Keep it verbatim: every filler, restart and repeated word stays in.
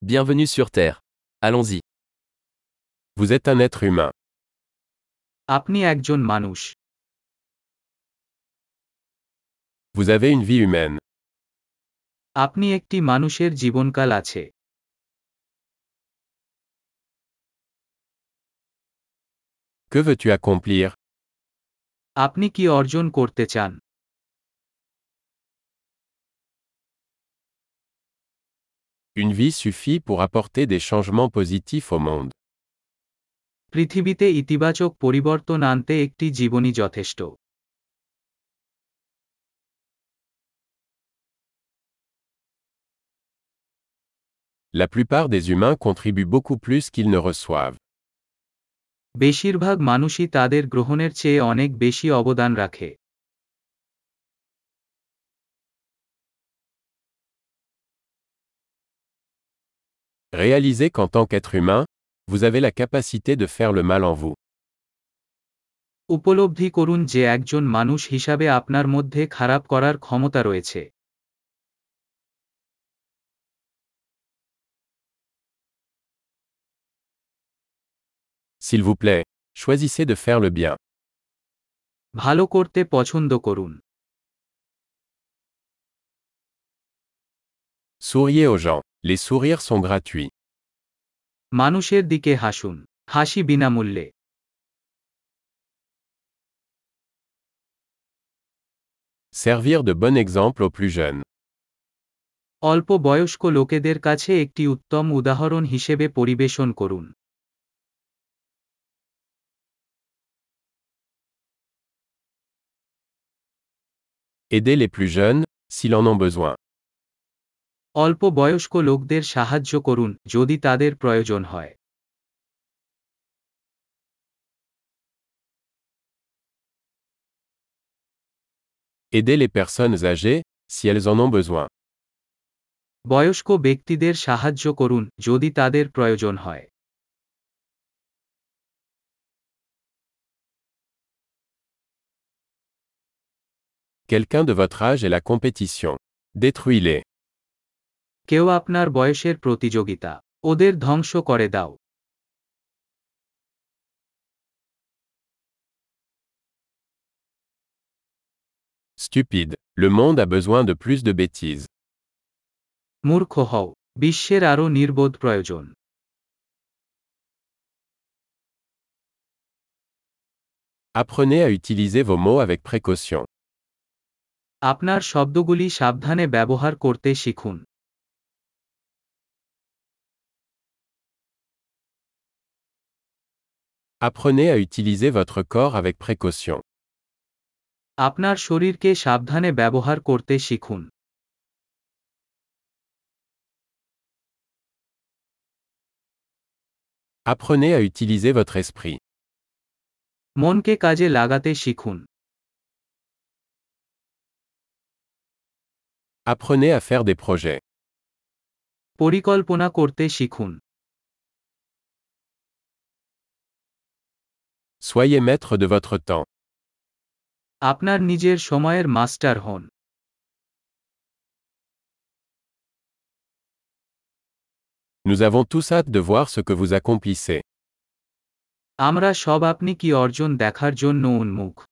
Bienvenue sur Terre. Allons-y. Vous êtes un être humain. আপনি একজন মানুষ। Vous avez une vie humaine. আপনি একটি মানুষের জীবনকাল আছে। Que veux-tu accomplir? আপনি কি অর্জন করতে চান? Une vie suffit pour apporter des changements positifs au monde. পৃথিবীতে ইতিবাচক পরিবর্তন আনতে একটি জীবনই যথেষ্ট। La plupart des humains contribuent beaucoup plus qu'ils ne reçoivent. বেশিরভাগ মানুষই তাদের গ্রহণের চেয়ে অনেক বেশি অবদান রাখে। Réalisez qu'en tant qu'être humain, vous avez la capacité de faire le mal en vous. উপলব্ধি করুন যে একজন মানুষ হিসাবে আপনার মধ্যে খারাপ করার ক্ষমতা রয়েছে। S'il vous plaît, choisissez de faire le bien. ভালো করতে পছন্দ করুন। Souriez aux gens. Les sourires sont gratuits. মানুষের দিকে হাসুন। হাসি বিনামূল্যে। Servir de bon exemple aux plus jeunes. অল্প বয়স্ক লোকেদের কাছে একটি উত্তম উদাহরণ হিসেবে পরিবেশন করুন। Aidez les plus jeunes, s'ils en ont besoin. অল্প বয়স্ক লোকদের সাহায্য করুন যদি তাদের প্রয়োজন হয়। Aidez les personnes âgées, si elles en ont besoin. বয়স্ক ব্যক্তিদের সাহায্য করুন যদি তাদের প্রয়োজন হয়। Quelqu'un de votre âge est la compétition. Détruis-les. কেউ আপনার বয়সের প্রতিযোগিতা। ওদের ধ্বংস করে দাও। Stupide. Le monde a besoin de plus de bêtises. মূর্খ হও। বিশ্বের আরও নির্বোধ প্রয়োজন। Apprenez à utiliser vos mots avec précaution. আপনার শব্দগুলি সাবধানে ব্যবহার করতে শিখুন। Apprenez à utiliser votre corps avec précaution. আপনার শরীরকে সাবধানে ব্যবহার করতে শিখুন। Apprenez à utiliser votre esprit. মনকে কাজে লাগাতে শিখুন। Apprenez à faire des projets. পরিকল্পনা করতে শিখুন। Soyez maître de votre temps. আপনার নিজের সময়ের মাস্টার হন। Nous avons tous hâte de voir ce que vous accomplissez. আমরা সব আপনি কি অর্জন দেখার জন্য উন্মুখ।